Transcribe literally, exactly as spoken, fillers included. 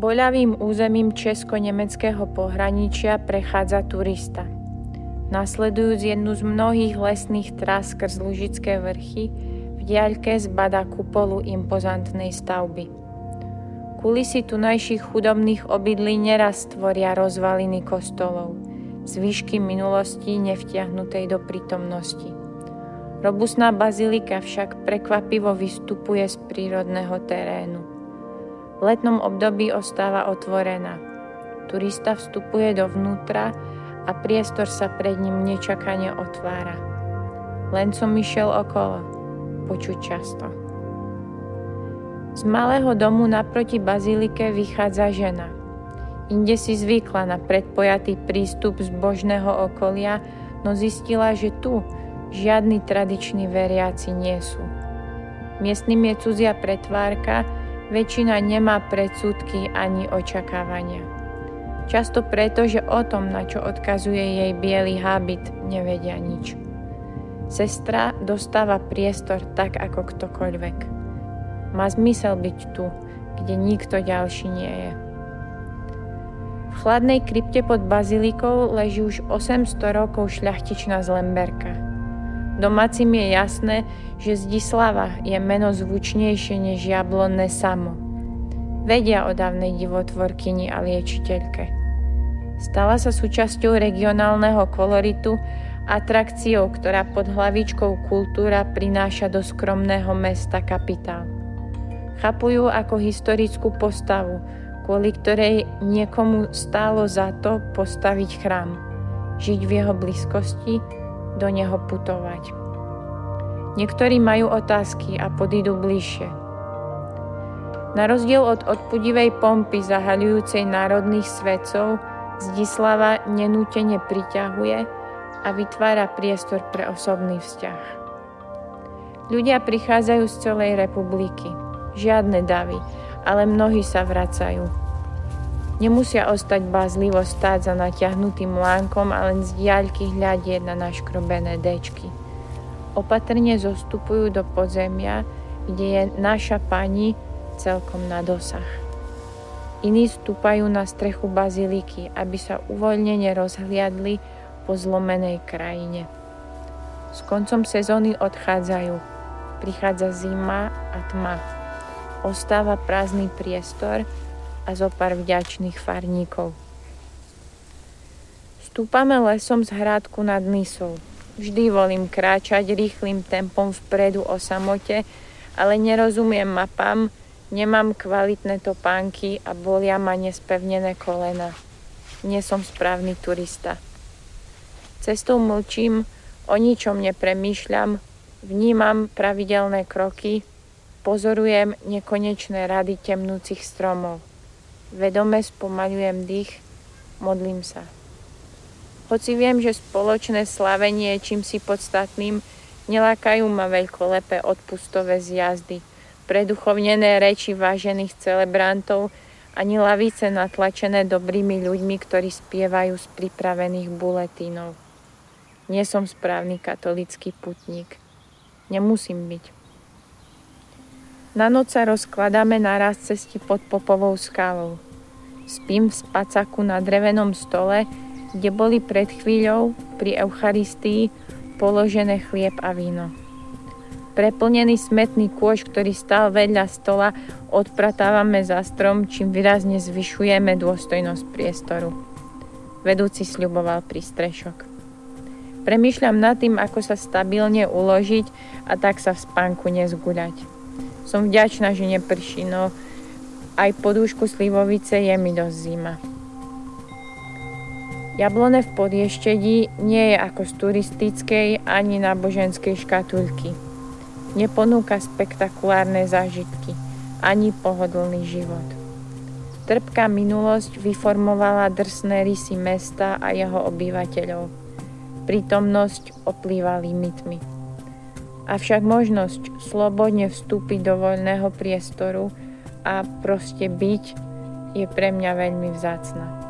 Boľavým územím česko-nemeckého pohraničia prechádza turista. Nasledujúc jednu z mnohých lesných trás skrz Lužické vrchy, v diaľke zbadá kupolu impozantnej stavby. Kulisy tunajších chudobných obydlí neraz tvoria rozvaliny kostolov, zvyšky minulosti nevtiahnutej do prítomnosti. Robustná bazilika však prekvapivo vystupuje z prírodného terénu. V letnom období ostáva otvorená. Turista vstupuje dovnútra a priestor sa pred ním nečakane otvára. Len som išiel okolo, počuť často. Z malého domu naproti bazilike vychádza žena. Inde si zvykla na predpojatý prístup z božného okolia, no zistila, že tu žiadni tradiční veriaci nie sú. Miestnym je cudzia pretvárka, väčšina nemá predsudky ani očakávania. Často preto, že o tom, na čo odkazuje jej biely hábit, nevedia nič. Sestra dostáva priestor tak ako ktokoľvek. Má zmysel byť tu, kde nikto ďalší nie je. V chladnej krypte pod bazilikou leží už osemsto rokov šľachtičná z Lemberka. Domácim je jasné, že Zdislava je meno zvučnejšie než jablonné samo. Vedia o dávnej divotvorkyni a liečiteľke. Stala sa súčasťou regionálneho koloritu, atrakciou, ktorá pod hlavičkou kultúra prináša do skromného mesta kapitál. Chápu ju ako historickú postavu, kvôli ktorej niekomu stálo za to postaviť chrám, žiť v jeho blízkosti, do neho putovať. Niektorí majú otázky a podídu bližšie. Na rozdiel od odpudivej pompy zahaľujúcej národných svetcov, Zdislava nenútene priťahuje a vytvára priestor pre osobný vzťah. Ľudia prichádzajú z celej republiky. Žiadne davy, ale mnohí sa vracajú. Nemusia ostať bázlivo stáť za natiahnutým lánkom a len z diaľky hľadieť na naškrobené dečky. Opatrne zostupujú do podzemia, kde je naša pani celkom na dosah. Iní stúpajú na strechu baziliky, aby sa uvoľnene rozhliadli po zlomenej krajine. S koncom sezóny odchádzajú. Prichádza zima a tma. Ostáva prázdny priestor a zo pár vďačných farníkov. Stúpame lesom z hrádku nad Nisou. Vždy volím kráčať rýchlym tempom vpredu o samote, ale nerozumiem mapám, nemám kvalitné topánky a bolia ma nespevnené kolena. Nie som správny turista. Cestou mlčím, o ničom nepremýšľam, vnímam pravidelné kroky, pozorujem nekonečné rady temnúcich stromov. Vedome spomaľujem dých, modlím sa. Hoci viem, že spoločné slavenie je čímsi podstatným, nelákajú ma veľkolepé odpustové zjazdy, preduchovnené reči vážených celebrantov ani lavice natlačené dobrými ľuďmi, ktorí spievajú z pripravených buletínov. Nie som správny katolícky putník. Nemusím byť. Na noc sa rozkladáme naraz cesti pod Popovou skalou. Spím v spacaku na drevenom stole, kde boli pred chvíľou pri Eucharistii položené chlieb a víno. Preplnený smetný kôš, ktorý stál vedľa stola, odpratávame za strom, čím výrazne zvyšujeme dôstojnosť priestoru. Vedúci sľuboval prístrešok. Premýšľam nad tým, ako sa stabilne uložiť a tak sa v spánku nezguľať. Som vďačná, že neprší, no aj podúšku slivovice je mi dosť zima. Jablone v Podještedí nie je ako z turistickej ani náboženskej škatulky. Neponúka spektakulárne zážitky, ani pohodlný život. Trpká minulosť vyformovala drsné rysy mesta a jeho obyvateľov. Prítomnosť oplýva limitmi. Avšak možnosť slobodne vstúpiť do voľného priestoru a proste byť je pre mňa veľmi vzácna.